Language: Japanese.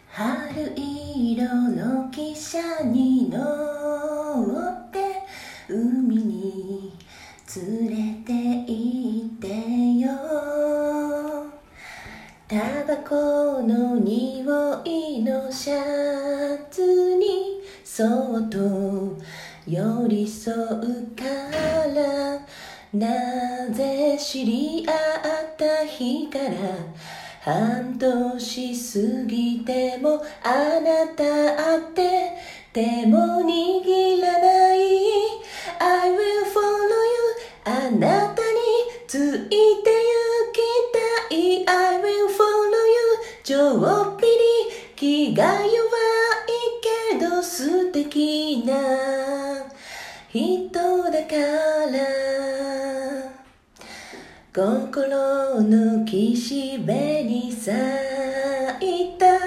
春色の汽車に乗って海に連れて行ってよ。タバコの匂いのシャツにそっと寄り添うから、なぜ知り合った日から半年過ぎてもあなたって手も握らない。 I will follow you あなたについて行きたい。 I will follow you ちょっぴり気が弱いけど素敵な人だから。心の岸辺に咲いた